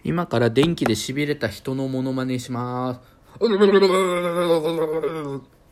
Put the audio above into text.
今から電気で痺れた人のモノマネします。